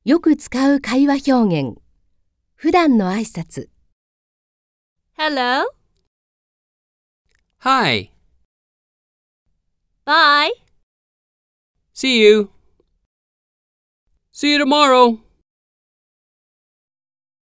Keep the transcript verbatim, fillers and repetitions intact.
よく使う会話表現。普段の挨拶。 Hello. Hi. Bye. See you. See you tomorrow.